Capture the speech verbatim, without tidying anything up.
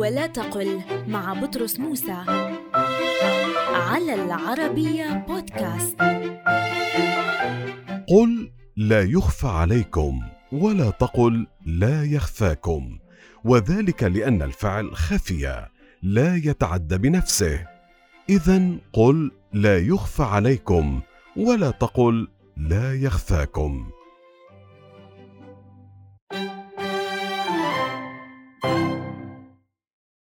ولا تقل مع بطرس موسى على العربية بودكاست. قل لا يخفى عليكم ولا تقل لا يخفاكم، وذلك لأن الفعل خفي لا يتعدى بنفسه. إذن قل لا يخفى عليكم ولا تقل لا يخفاكم.